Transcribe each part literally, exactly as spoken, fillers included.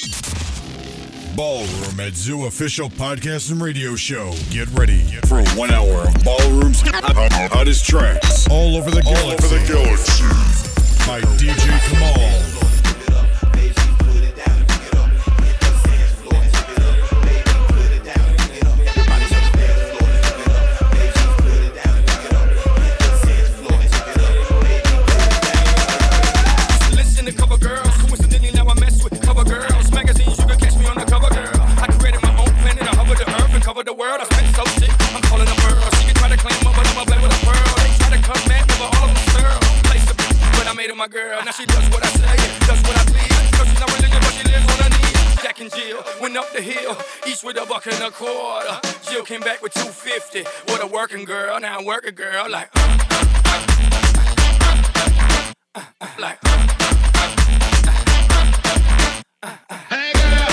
Ballroom at Zoo official podcast and radio show. Get ready for one hour of Ballroom's hottest tracks all over the galaxy. All over the galaxy. By D J Kamal. The world, I spent so sick, I'm calling a pearl. She can try to claim her, but I'ma play with a pearl. They try to come at me, but all of them stir. Place a bitch, but I made her my girl. Now she does what I say, does what I please. No, she's not religious, but she lives on her knees. Jack and Jill went up the hill, each with a buck and a quarter. Jill came back with two fifty. What a working girl, now I'm working girl. Like, uh, uh, uh, uh, uh, like, uh, uh, uh, uh, uh. Hey girl.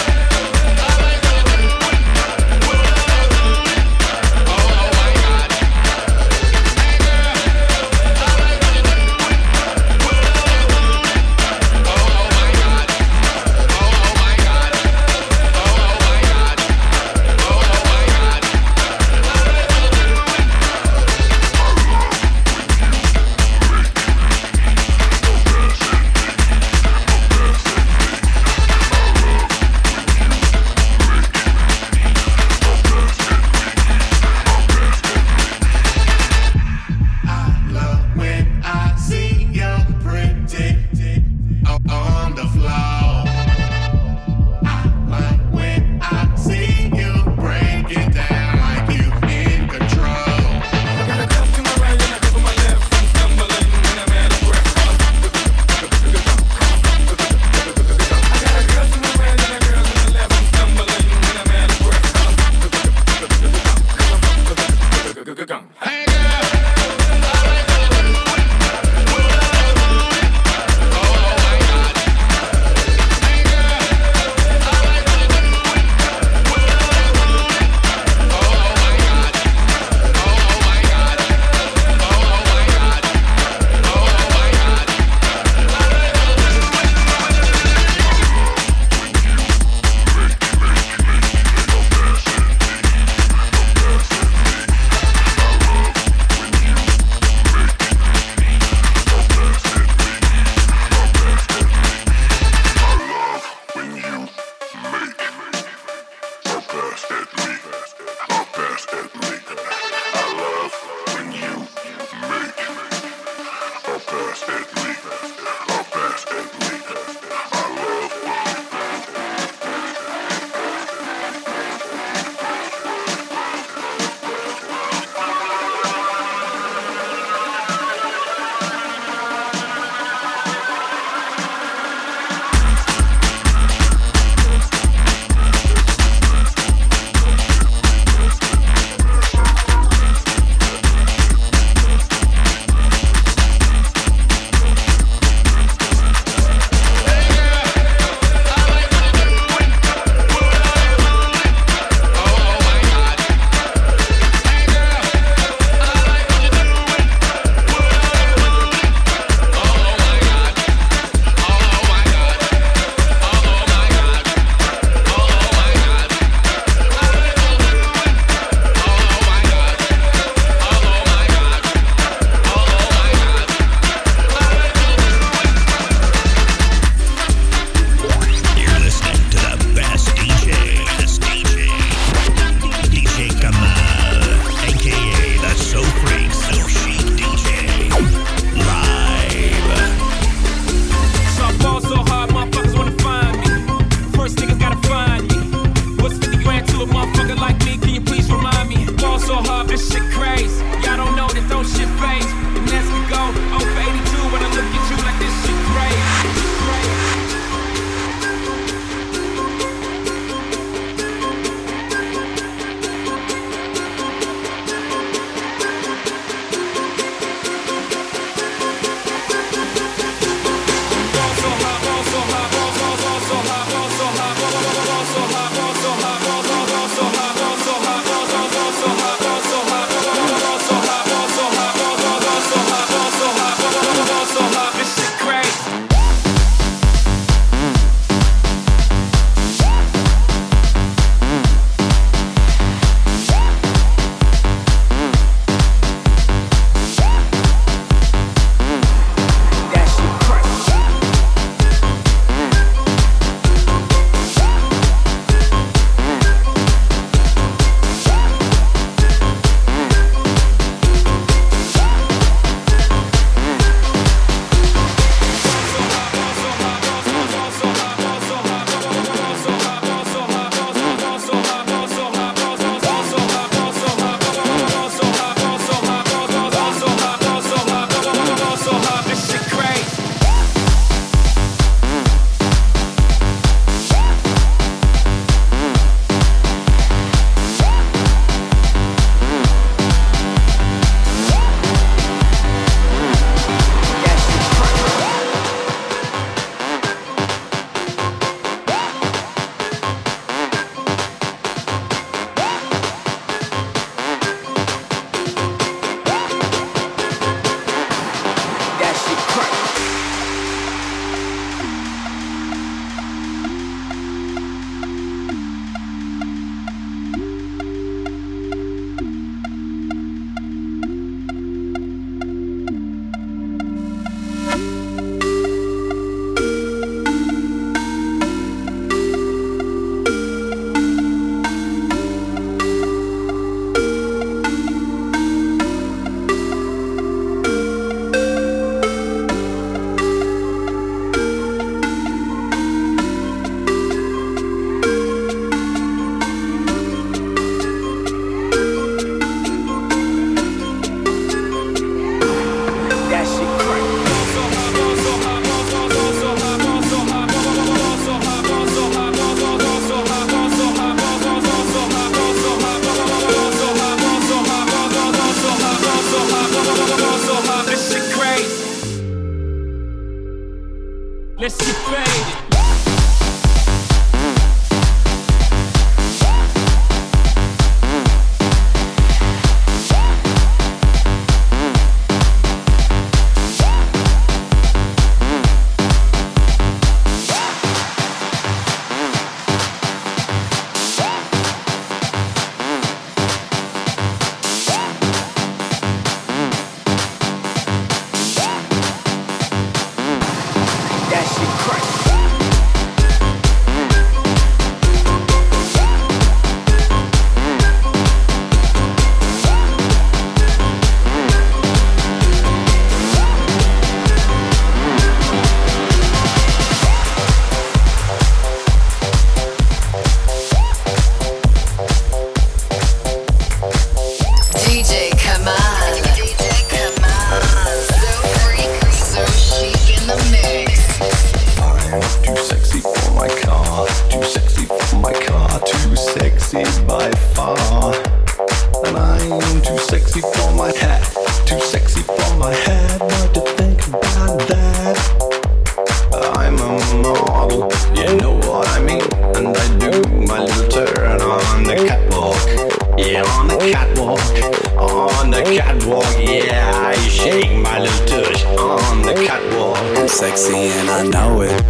my car, too sexy for my car, too sexy by far. And I'm too sexy for my hat, too sexy for my hat. What to think about that? I'm a model, you know what I mean. And I do my little turn on the catwalk. Yeah, on the catwalk, on the catwalk. Yeah, I shake my little tush on the catwalk. I'm sexy and I know it.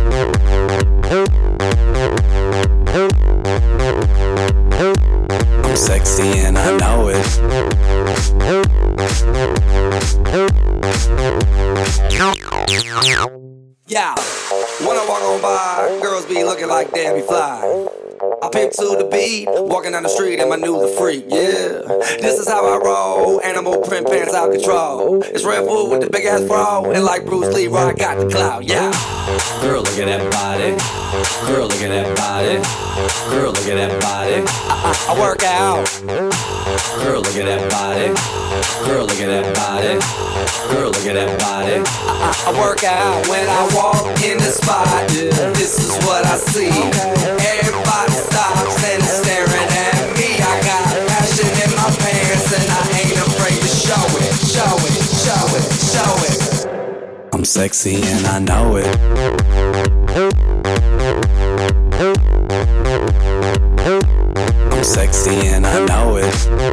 I'm sexy and I know it. Yeah, when I walk on by, girls be looking like Debbie Fly. I pimp to the beat, walking down the street in my new the freak, yeah. This is how I roll, animal print pants out control. It's Red Bull with the big ass bro, and like Bruce Lee, I got the clout, yeah. Girl, look at that body. Girl, look at that body. Girl, look at that body. I, I, I work out. Girl, look at that body. Girl, look at that body. Girl, look at that body. I, I, I work out when I walk in the spot. This is what I see. Everybody stops and is staring at me. I got passion in my pants and I ain't afraid to show it, show it, show it, show it. I'm sexy and I know it. I'm sexy and I know it.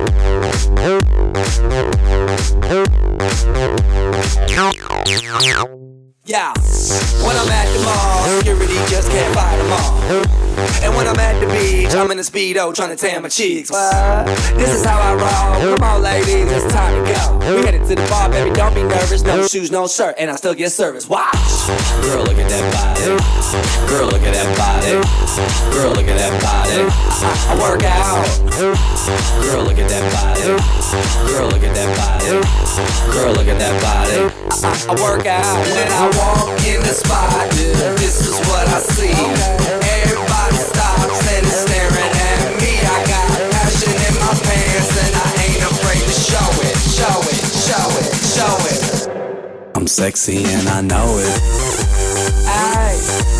Yeah, when I'm at the mall, security just can't fight them all. And when I'm at the beach, I'm in a Speedo trying to tan my cheeks. What? This is how I roll. Come on, ladies, it's time to go. We headed to the bar, baby, don't be nervous. No shoes, no shirt, and I still get service. Watch. Girl, look at that body. Girl, look at that body. Girl, look at that body. I, I work out. Girl, look at that body. Girl, look at that body. Girl, look at that body. I, I work out when I walk in the spot. This is what I see. Everybody stops and is staring at me. I got passion in my pants and I ain't afraid to show it, show it, show it, show it. I'm sexy and I know it. Aye.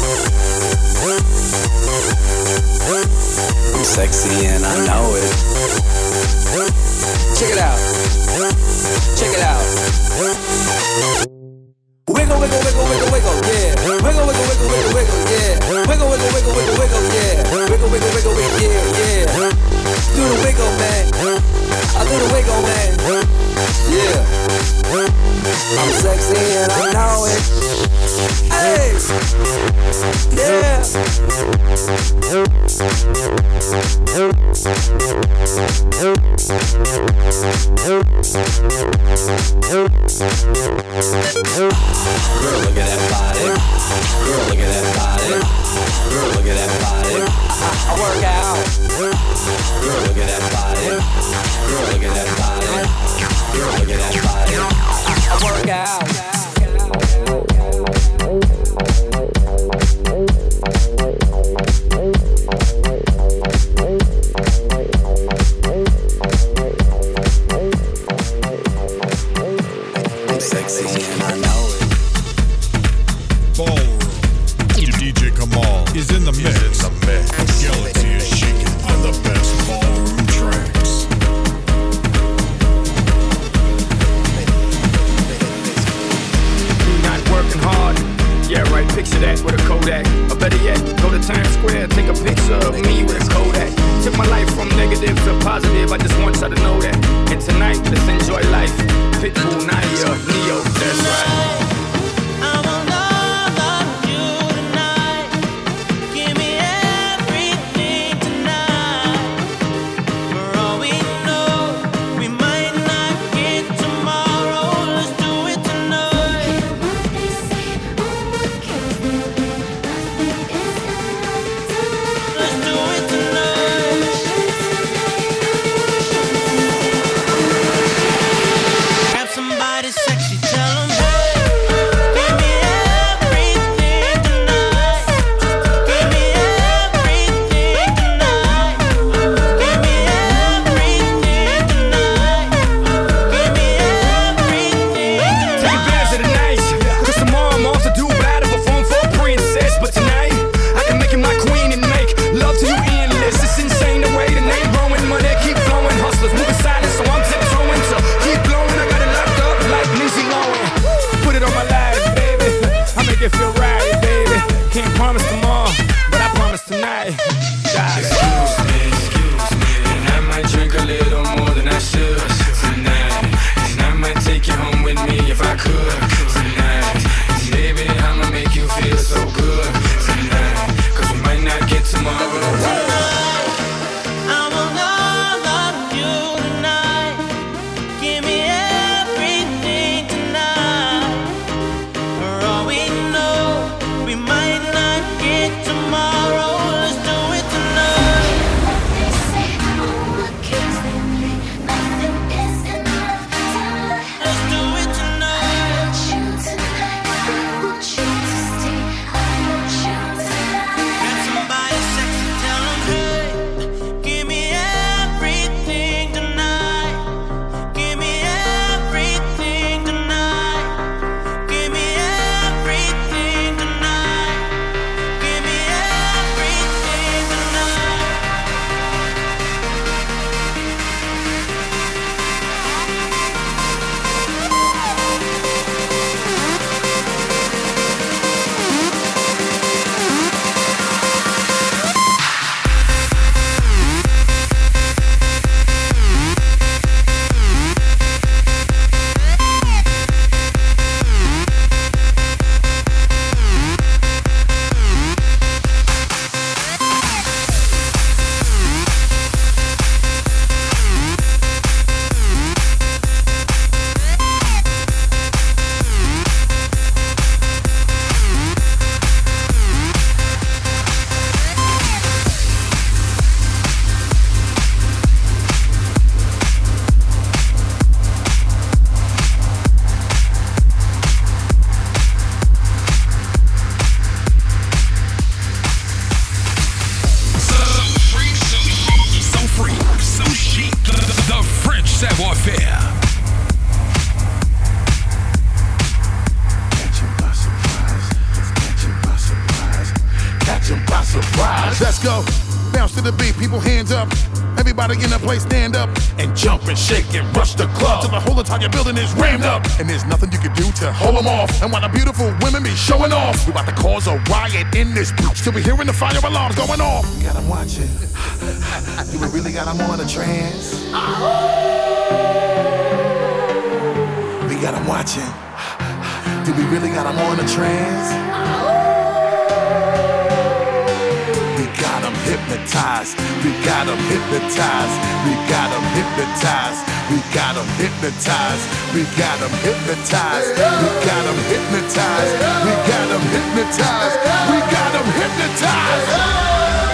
I'm sexy and I know it. Check it out. Check it out. Wiggle, wiggle, wiggle, wiggle, wiggle, yeah. Wiggle, wiggle, wiggle, wiggle, wiggle, yeah. Wiggle, wiggle, wiggle, wiggle, wiggle, yeah. Wiggle, wiggle, wiggle, wiggle, yeah, yeah. Do the wiggle, man. I do the wiggle, man. Yeah. I'm sexy and I know it. Hey. Yeah. Girl, look at that body. Girl, look at that body. Girl, look at that body. I, I work out. Girl, look at that body. Girl, look at that body. Girl, look at that body. I, I work out. I'm sexy and I know it. Ballroom. D J Kamal is in the mix. right. Got it. Excuse me, excuse me, and I might drink a little more than I should tonight. And I might take you home with me if I could tonight. And baby, I'ma make you feel so good tonight. Cause we might not get tomorrow. Let's go. Bounce to the beat, people hands up. Everybody in the place stand up and jump and shake and rush the club till the whole entire building is rammed up. And there's nothing you can do to hold them off. And while the beautiful women be showing off, we about to cause a riot in this bitch till we hearing the fire alarms going off. We got them watching. Do we really got them on a trance? We got them watching. Do we really got them on a trance? Hypnotized, we got them hypnotized, we got them hypnotized, we got them hypnotized, we got them hypnotized, we got them hypnotized, we got them hypnotized, we got them hypnotized.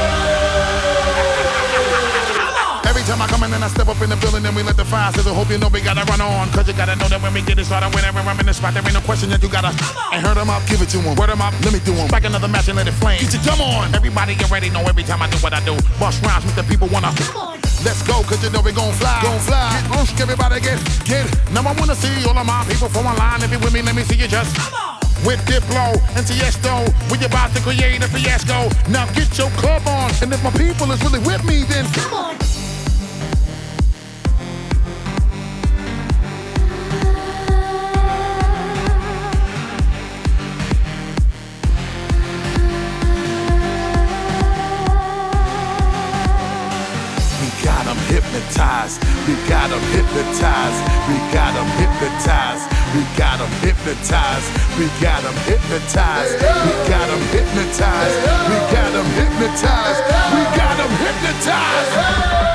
Every time I come in and I step up in the building and we let the fire sizzle. Hope you know we gotta run on, cause you gotta know that when we get it started, whenever I'm in the spot, there ain't no question that you gotta. And hurt them up, give it to them, word them up, let me do them. Back another match and let it flame. Get your drum on. Everybody get ready, know every time I do what I do. Bust rhymes, make the people wanna. Let's go, cause you know we gon' fly. Gon' fly. Get loose, everybody get, get. Now I wanna see all of my people form a line. If you with me, let me see you just. With Diplo and Tiesto, we about to create a fiasco. Now get your club on, and if my people is really with me, then come on. Hypnotized, we got them hypnotized, we got them hypnotized, we got them hypnotized, we got them hypnotized, we got them hypnotized, we got them hypnotized, we got them hypnotized.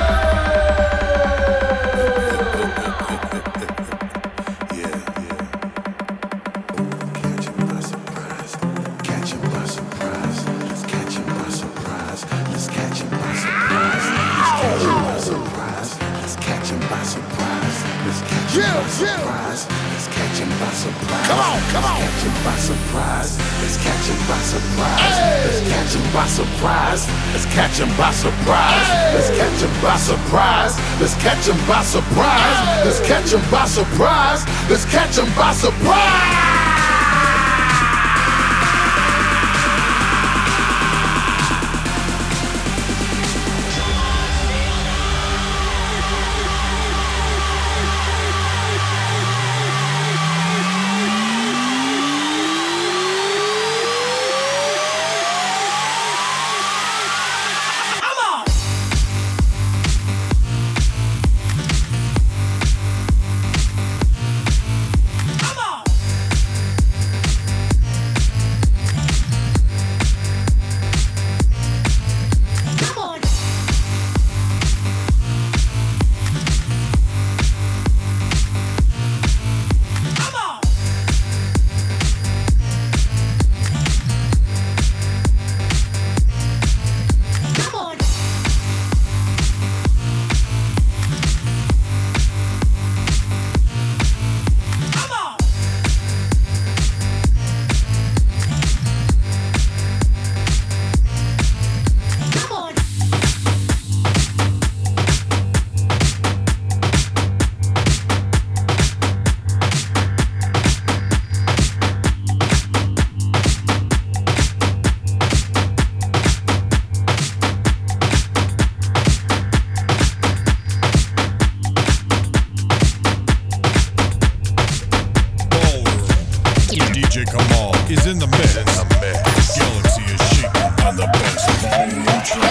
Come on, come on. Let's catch him by surprise. Let's catch him by surprise. Let's catch him by surprise. Let's catch him by surprise. Let's catch him by surprise. Let's catch him by surprise. Let's catch him by surprise. Let's catch him by surprise.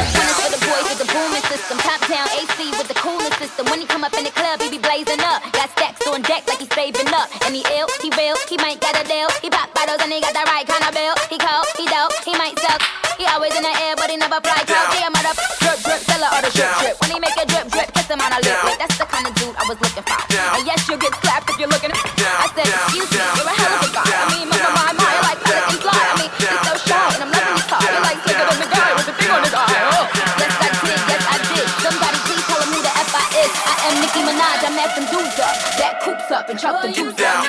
One is for the boys with the booming system. Top down A C with the cooling system. When he come up in the club, he be blazing up. Got stacks on deck like he's saving up. And he ill, he real, he might got a deal. He pop bottles and he got the right kind of bill. He cold, he dope, he might suck. He always in the air, but he never fly. Cold, he a mother drip drip, seller or the drip drip. When he make a drip drip, kiss him on a lip lip. That's the kind of dude I was looking for. And yes, you'll get slapped if you're looking at me. I said, excuse me, you're a hell of a guy. I mean, my my my, I like Pelican fly. I mean, he's so shy, and I'm loving his car. He like slicker than the guy with the thing on his eye. Oh, yes I did, yes I did. Somebody please tell him who the F I is. I am Nicki Minaj, I met them dudes up. That coops up and chuck the dudes down.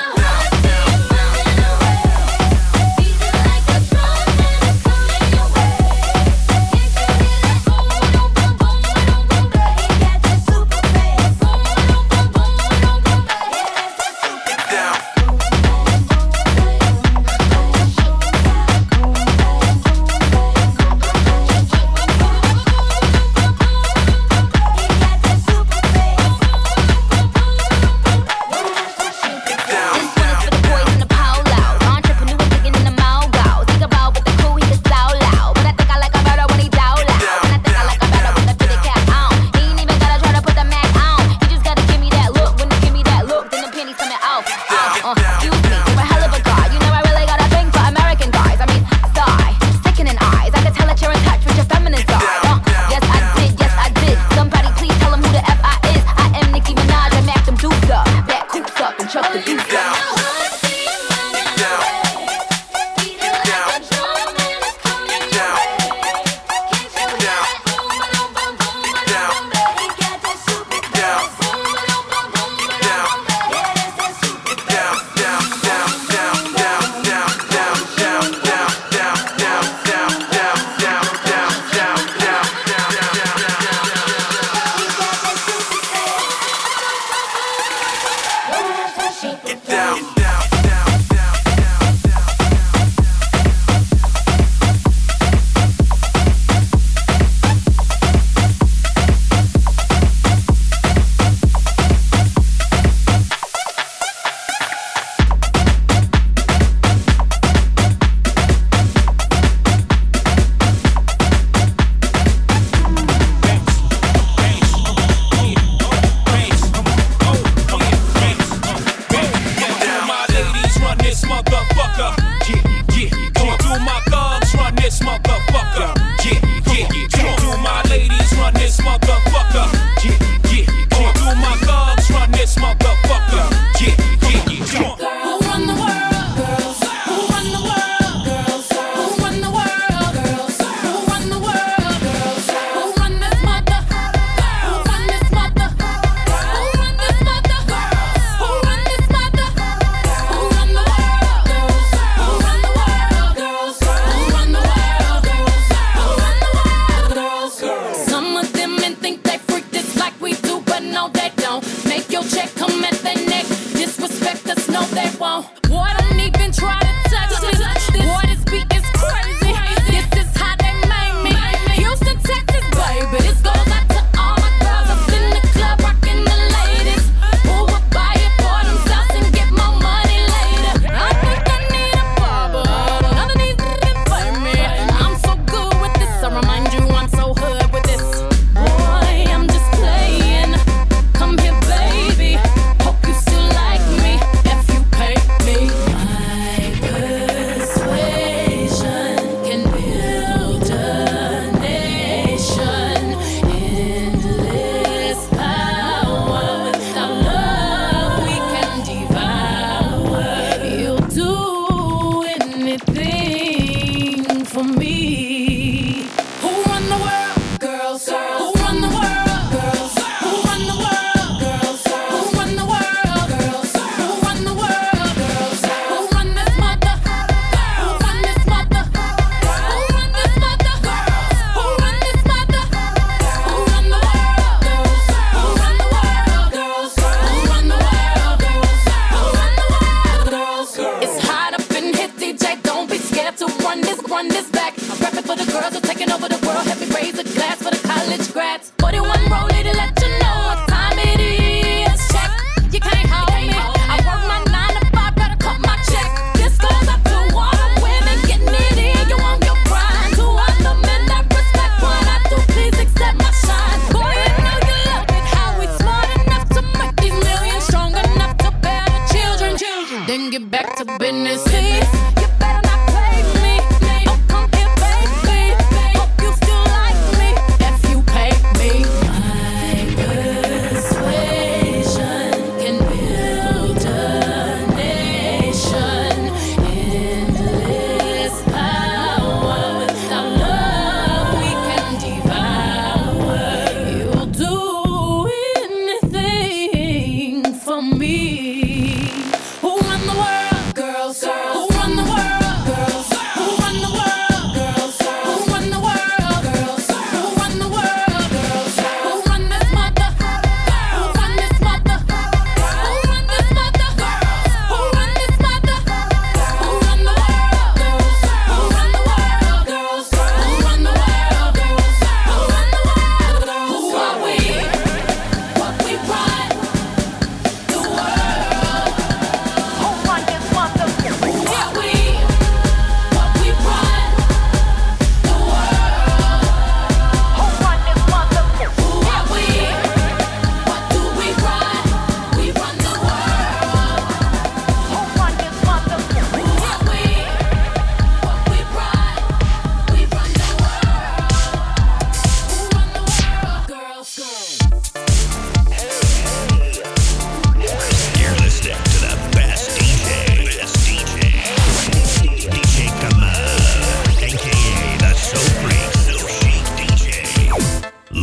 run this back. I'm rapping for the girls who are taking over the world. Help me raise a glass for the college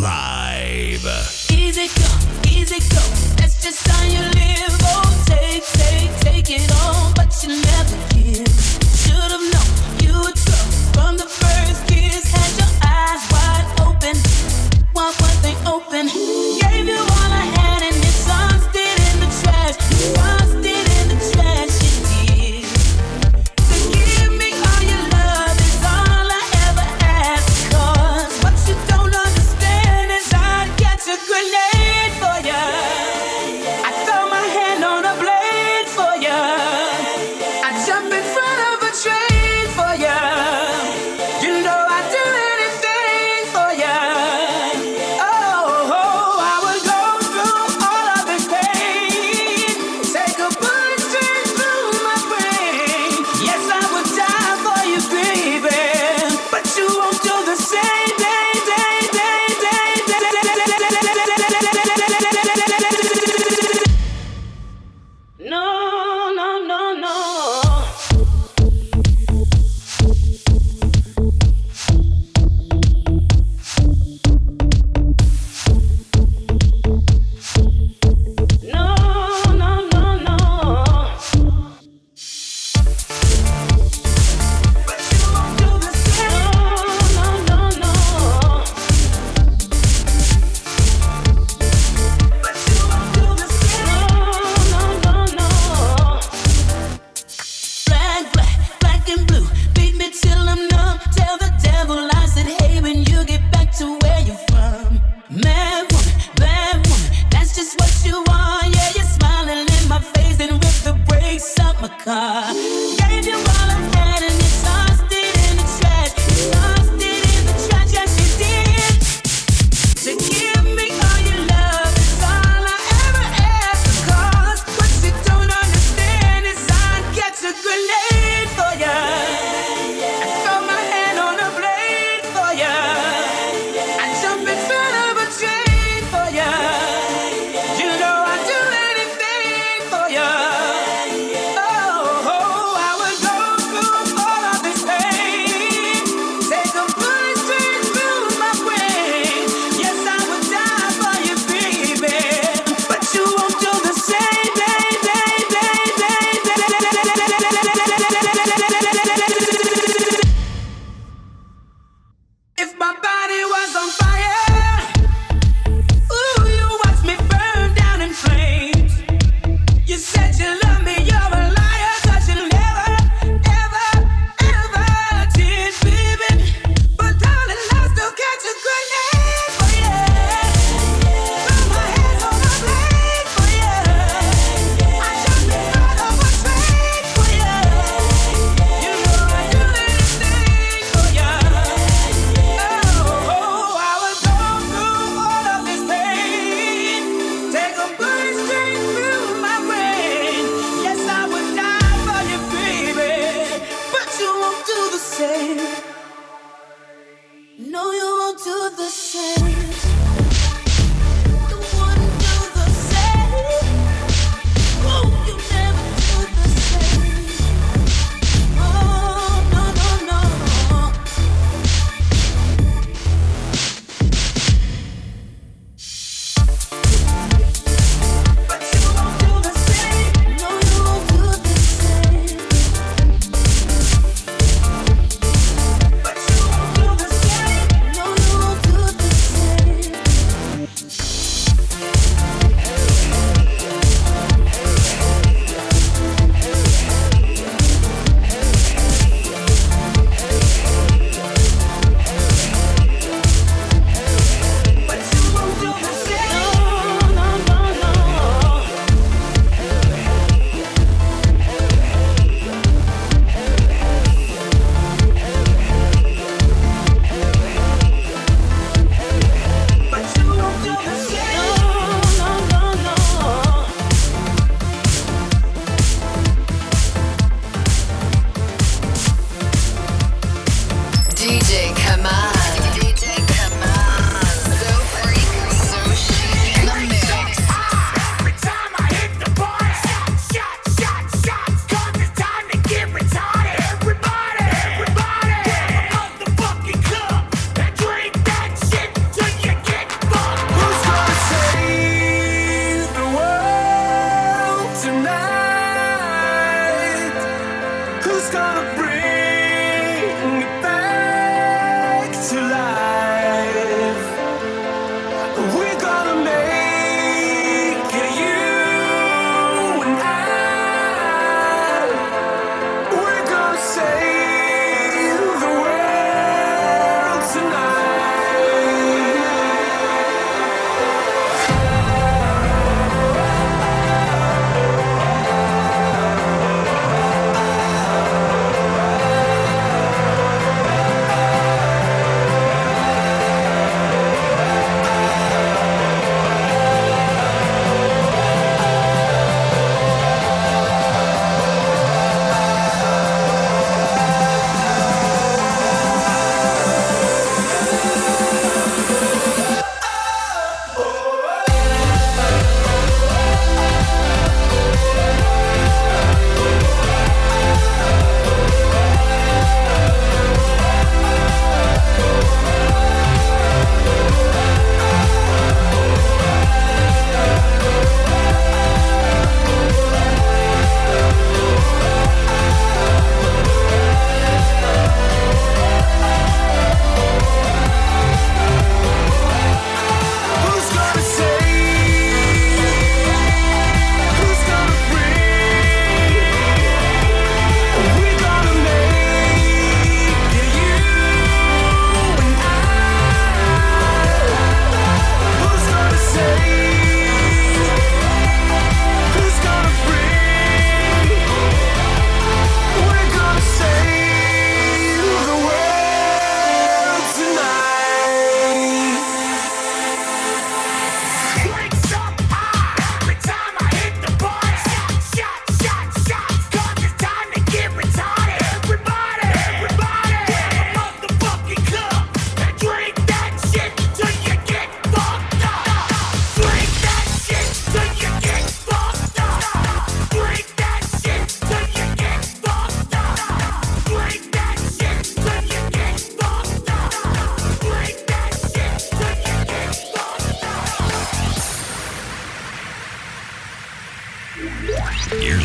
Vibe. Easy come, easy go. That's just how you live. Oh, take, take, take it on, but you never give. Should've known you would go from the first kiss. Had your eyes wide open, one one thing open. Gave you all I had and you tossed it in the trash. You tossed it in the trash. You did. To give me all your love is all I ever ask. 'Cause what you don't understand is I'd catch a grenade for ya. I throw my hand on a blade for ya. I jump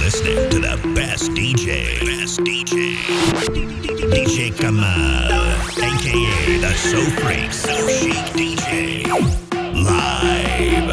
listening to the best D J. Best D J. D J Kamal, aka the So Freak, So Chic D J. Live.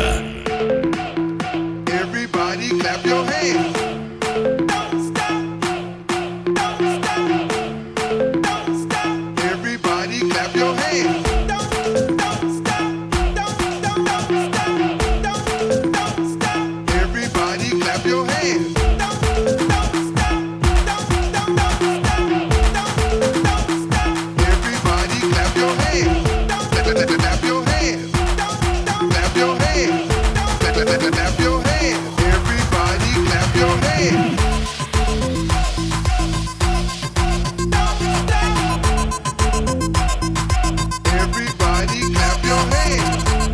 Everybody clap your hands. Don't stop. Don't stop. Don't stop. Everybody clap your hands. Don't, don't stop. Don't, don't, don't stop. Don't, don't stop. Everybody clap your hands. Don't, don't stop. Don't, don't, don't stop. Don't, don't stop. Everybody clap your hands. Don't, clap your hands. Don't, don't clap your hands. Clap, clap, clap, clap your hands. Everybody clap your hands. Everybody clap your hands.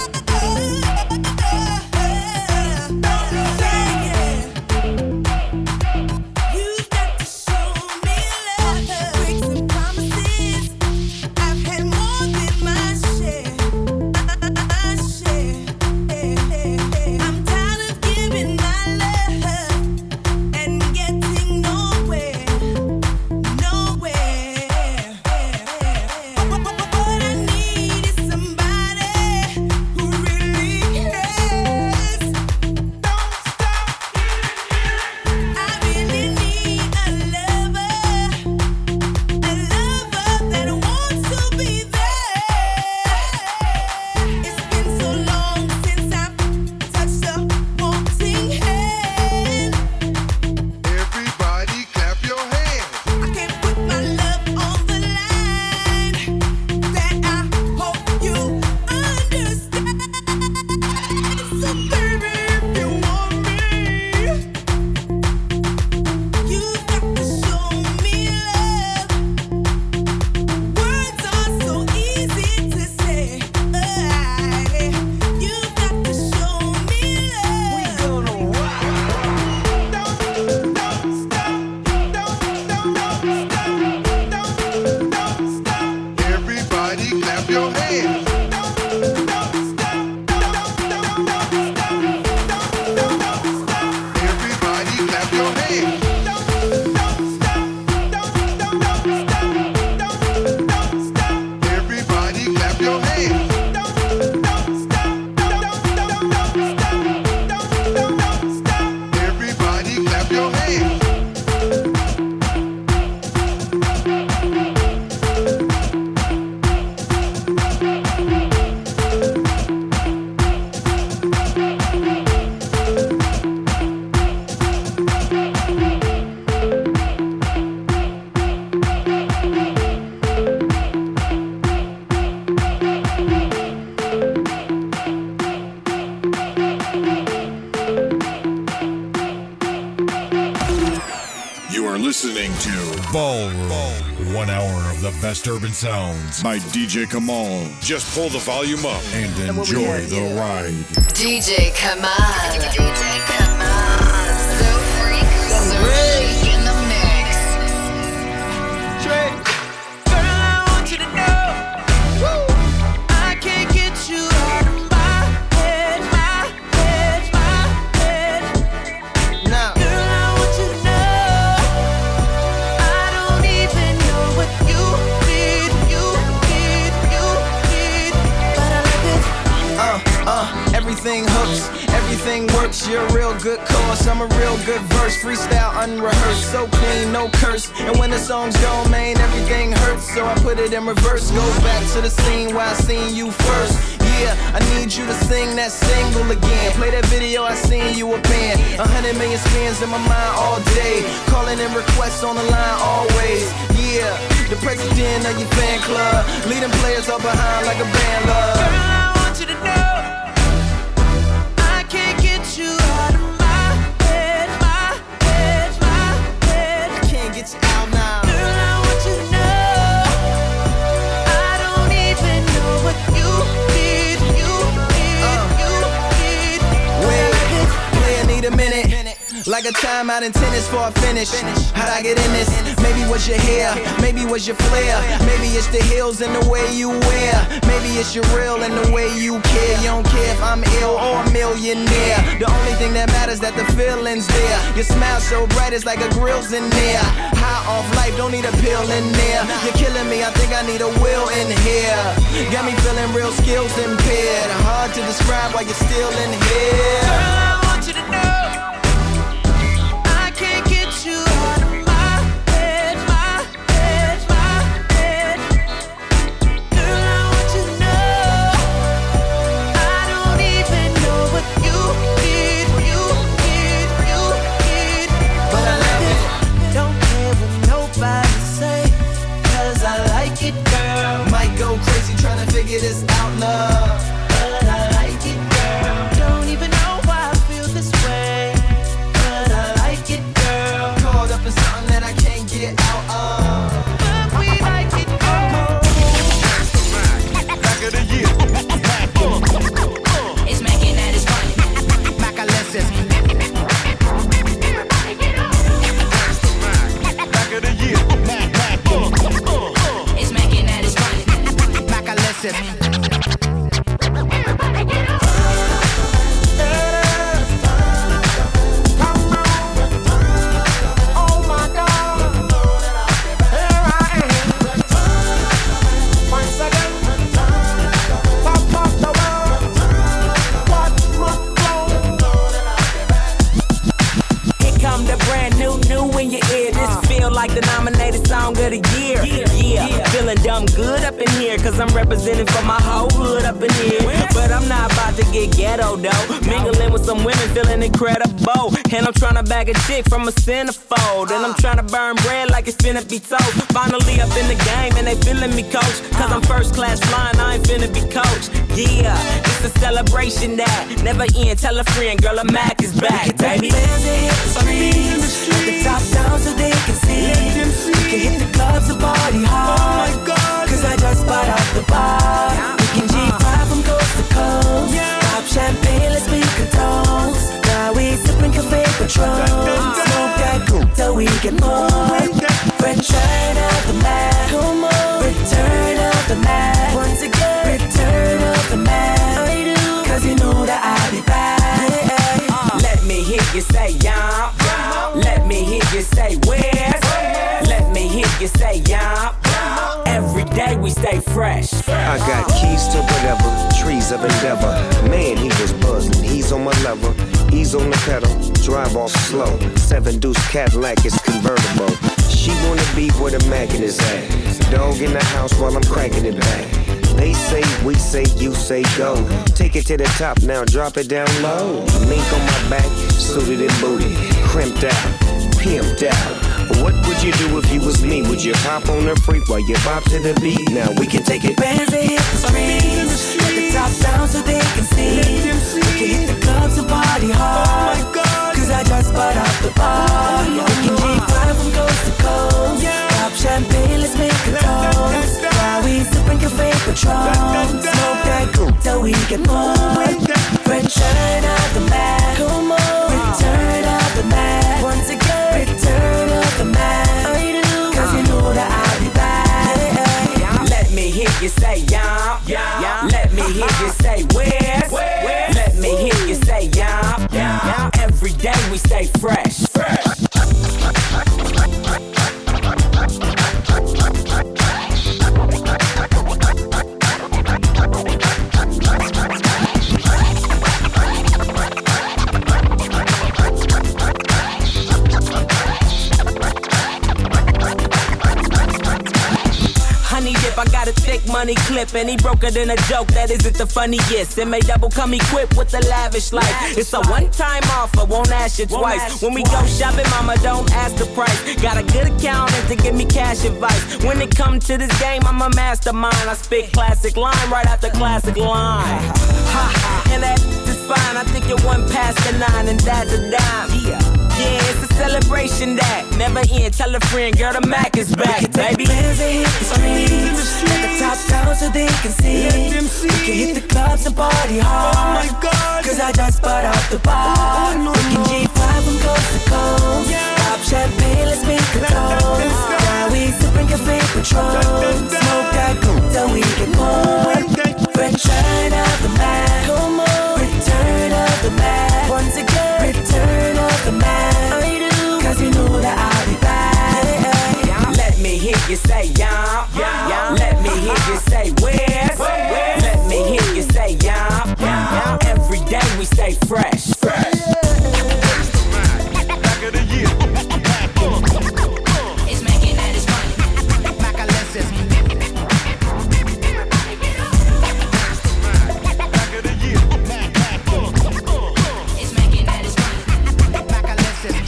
You've got to show me love, breaks and promises. I've had more than my share, my share. I'm tired of giving my love and getting nowhere, nowhere. What I need is somebody who really cares. Don't stop. I really need a lover, a lover that wants to be there. It's been so long since I've touched a wanting hand. Everybody clap your hands. I can't put my love on the line. That I hope you understand. So baby, if you want me, you've got to show me love. Words are so easy to say. You've got to show me love. We gonna rock. Don't, don't stop. Don't, don't, don't stop. Don't, don't stop. Everybody clap your hands. Don't, don't stop. Don't, don't, don't stop. Don't, don't stop. Everybody clap your hands. Don't, don't stop. Don't, don't stop. Don't, don't stop. Everybody clap your hands. Don't, don't stop. Don't, don't stop. Don't, don't stop. Everybody clap your hands. You are listening to Ballroom. One hour of the best urban sounds by D J Kamal. Just pull the volume up and enjoy the ride. D J Kamal. D J Kamal. So freak, so chic in the mix. Girl, I want you to know, I can't get you out of my head, my head, my head. Now, girl, I want you to know, I don't even know what you need, you need, you need, but I love it. Uh, uh, everything hooks, everything works. You're a real good cause, I'm a real good verse. Freestyle unrehearsed, so clean, no curse. And when the song's gone, man, everything hurts. So I put it in reverse. Go back to the scene where I seen you first. Yeah, I need you to sing that single again. Play that video, I seen you a band. A hundred million spins in my mind all day. Calling in requests on the line always. Yeah, the president of your fan club. Leading players up behind like a band love. Girl, I want you to know, I can't get you out of my head, my head, my head. I can't get you out now. Girl, I want you to know, I don't even know what you need, you need, Uh. you need. Wait, play, I need a minute. like a timeout in tennis for a finish. How'd I get in this? Maybe was your hair, maybe was your flair. Maybe it's the heels and the way you wear. Maybe it's your real and the way you care. You don't care if I'm ill or a millionaire. The only thing that matters that the feeling's there. Your smile so bright it's like a grill's in there. High off life, don't need a pill in there. You're killing me, I think I need a will in here. Got me feeling real skills impaired. Hard to describe why you're still in here. Girl, I want you to know I can't get you out of my head, my head, my head. Girl, I want you to know I don't even know what you need, you need, you need. But I love it. Don't care what nobody say, 'cause I like it, girl. Might go crazy trying to figure this out, love. But I like it, girl. Don't even know why I feel this way, but I like it, girl. Caught up in something that I can't get out of. But we like it, girl. Back of the year. It's making that it's funny. Mac a lessons. Back of the year. It's making that it's funny. Mac a lessons. Like the nominated song of the year. Yeah, yeah. yeah. Feeling dumb good up in here, 'cause I'm representing for my whole hood up in here. But I'm not about to get ghetto though. Mingling with some women, feeling incredible. And I'm trying to bag a chick from a centerfold. And I'm trying to burn bread like it's finna be toast. Finally up in the game and they feeling me, coach. 'Cause I'm first class flying, I ain't finna be coached. Yeah, it's a celebration that never end. Tell a friend, girl, a Mac is back, baby. Let the top down so they can see. We can hit the clubs and party hard. Oh my God, 'cause I just bought out the bar. We can G five from coast to coast. Yeah. Pop champagne, let's make a toast. Now we sipping Cafe Patron. Smoke that cool till we get more. Return of the Mac. Come on. Return of the Mac. Once again. Return of the Mac. I do. 'Cause you know that I'll be back. Yeah. Uh, Let me hear you say yeah. Let me hear you say where. Let me hear you say yeah. Every day we stay fresh. I got keys to whatever, trees of endeavor. Man, he was buzzing, he's on my level. He's on the pedal, drive off slow. Seven deuce Cadillac is convertible. She wanna be where the Mackin is at. Dog in the house while I'm cracking it back. They say, we say, you say go. Take it to the top now, drop it down low. Mink on my back, suited and booted, crimped out, pimped out. What would you do if you was me? Would you hop on the freak while you bop to the beat? Now we can take it. Bands that hit the streets, let the top down so they can see. We can hit the clubs and party hard. Oh my God, 'cause I just bought out the bar. We can G five from coast to coast. Pop champagne, let's make a toast. While we sipping Cafe Patron. Smoke that cool till we get more. Return of the Mac. Come on. Return of the Mac. Once again. Return of the Mac. I do. 'Cause you know that I'll be back. Let me hear you say yeah. yeah. Let me hear you say where. where. Let me hear you say yeah. yeah. Every day we stay fresh. fresh. I got a thick money clip and he broke it in a joke that isn't the funniest. And may double come equipped with the lavish life. It's a one-time offer, won't ask you twice. When we go shopping, mama, don't ask the price. Got a good accountant to give me cash advice. When it comes to this game, I'm a mastermind. I spit classic line right after classic line. Ha, and that is fine. I think you're one past the nine and that's a dime. Yeah. Yeah, it's a celebration that never end. Tell a friend, girl, the Mac is back, baby. Bands that hit the streets, let the top down so they can see. We can hit the clubs and party hard. Oh my God, 'cause I just bought out the bar. We can G five from coast to champagne, let's make a toast. Now we sipping cafe Patron. Smoke that coke till we get more. Return of the Mac. Come on. Return of the Mac. Once again. Return of the Mac. I do. Cause you know that I'll be back. Let me hear you say yum. Yum. Let me hear you say where. Let me hear you say yum. Yum. Every day we stay fresh. Fresh. Back of the year. It's making that it's fun. Back of lessons. Back of the year. It's making that it's fun. Back of lessons.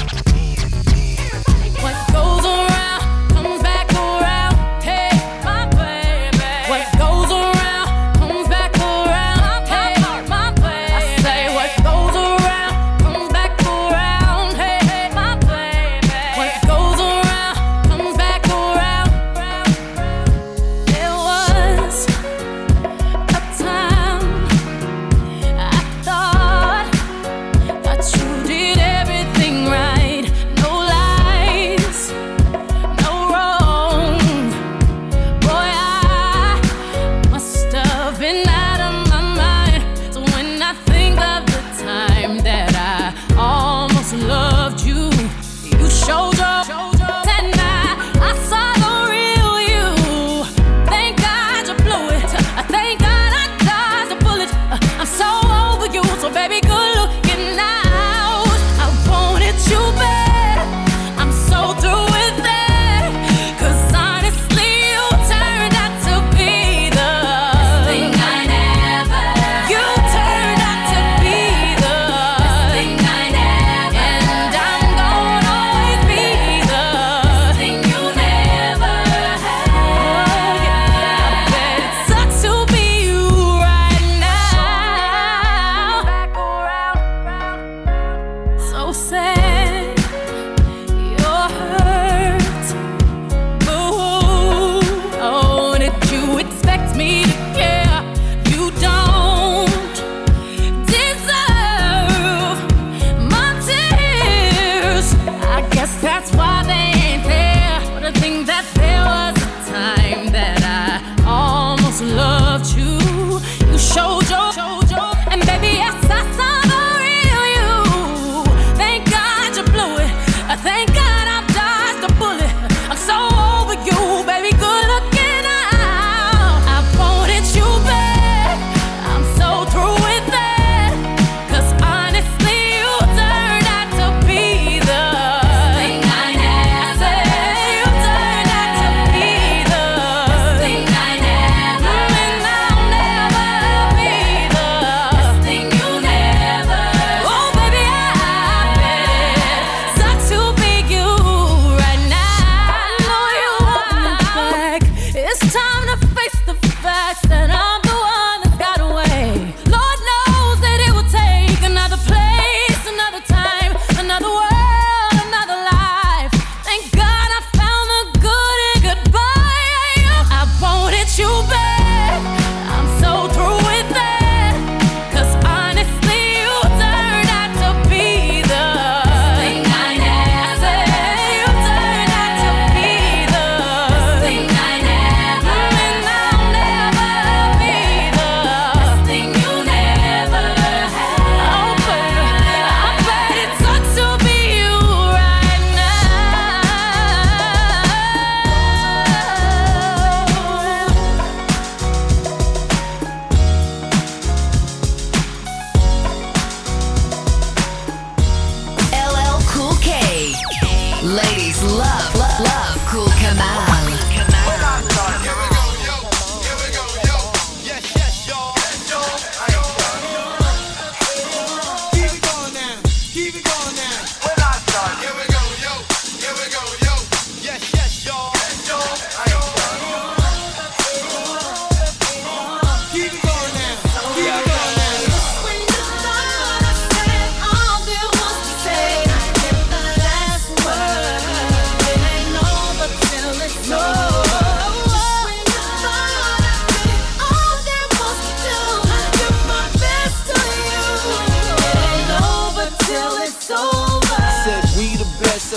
What goes around comes back around. Hey, my baby. What goes around comes back around. Hey, my baby. I say what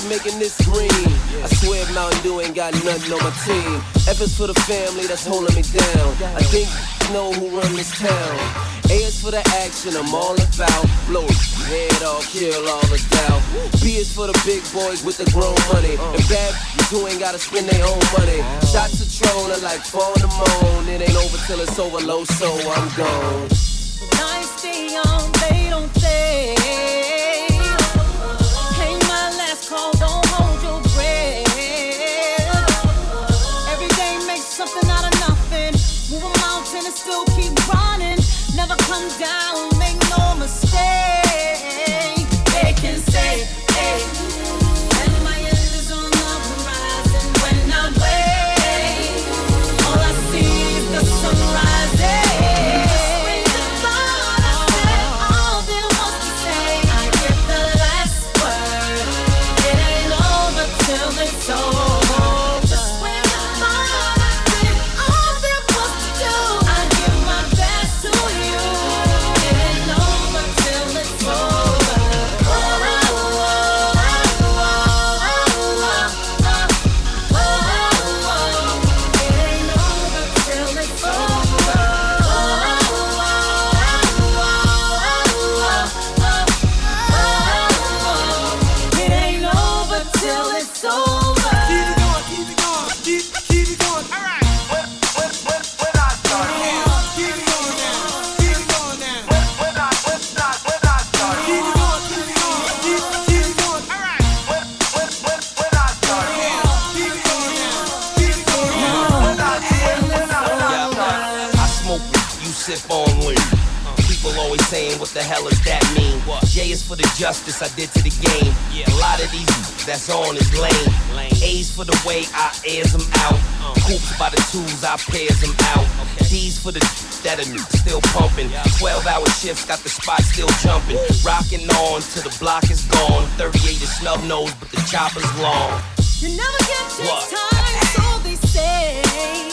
of making this green. I swear Mountain Dew ain't got nothing on my team. F is for the family that's holding me down. I think you know who run this town. A is for the action, I'm all about. Blow head off, kill all the doubt. B is for the big boys with the grown money. And bad who ain't gotta spend their own money. Shots of Tron are like fall in the moon. It ain't over till it's over, low, so I'm gone. Nights stay on, they don't stay. Ain't my last call, don't hold your breath. Every day makes something out of nothing. Move a mountain and still keep running. Never come down, make no mistake. They can say, hey, and my end is on the horizon. When I wake, all I see is the sunrise. When the thought I said all there was to say, I get the last word. It ain't over till it's over. Just when I thought I did all there was to do, I give my best to you. It ain't over till it's over. Sip on lean. People always saying, what the hell does that mean? What? J is for the justice I did to the game. Yeah. A lot of these that's on is lame. lame. A's for the way I airs them out. Uh. Hoops by the twos, I pairs them out. Okay. D's for the that are still pumping. Yeah. twelve hour shifts, got the spot still jumping. Woo. Rocking on till the block is gone. thirty-eight is snub nose, but the chopper's long. You never get this time, so they say.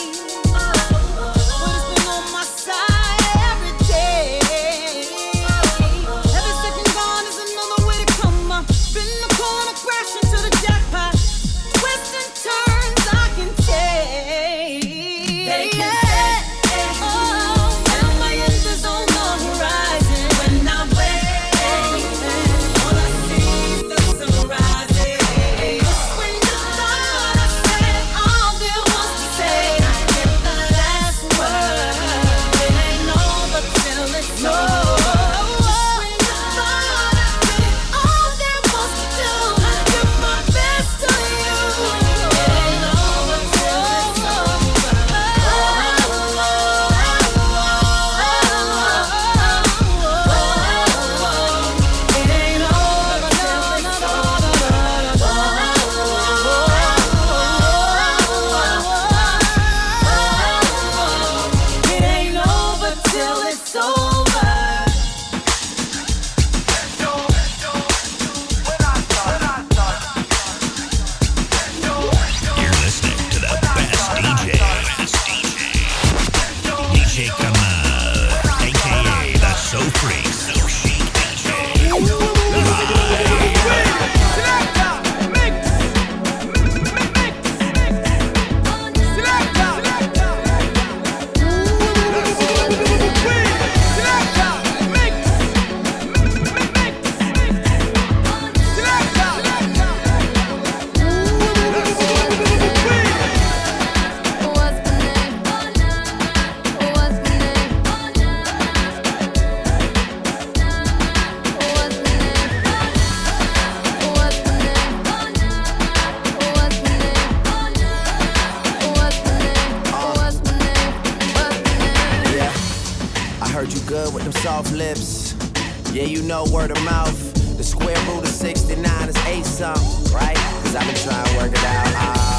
Soft lips, yeah, you know word of mouth. The square root of sixty-nine is eight something, right? Cause I've been trying to work it out.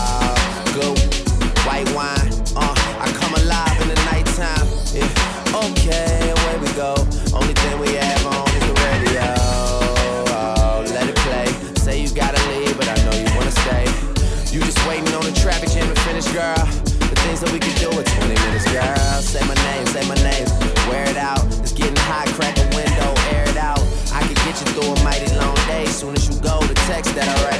Ah, uh, go, white wine, uh, I come alive in the nighttime. Yeah, okay, away we go. Only thing we have on is the radio. Oh, let it play. Say you gotta leave, but I know you wanna stay. You just waiting on the traffic jam to finish, girl. The things that we can do in twenty minutes, girl. Say my name, say my name, wear it out. It's getting hot, crack a window, air it out. I can get you through a mighty long day. Soon as you go, the text that I write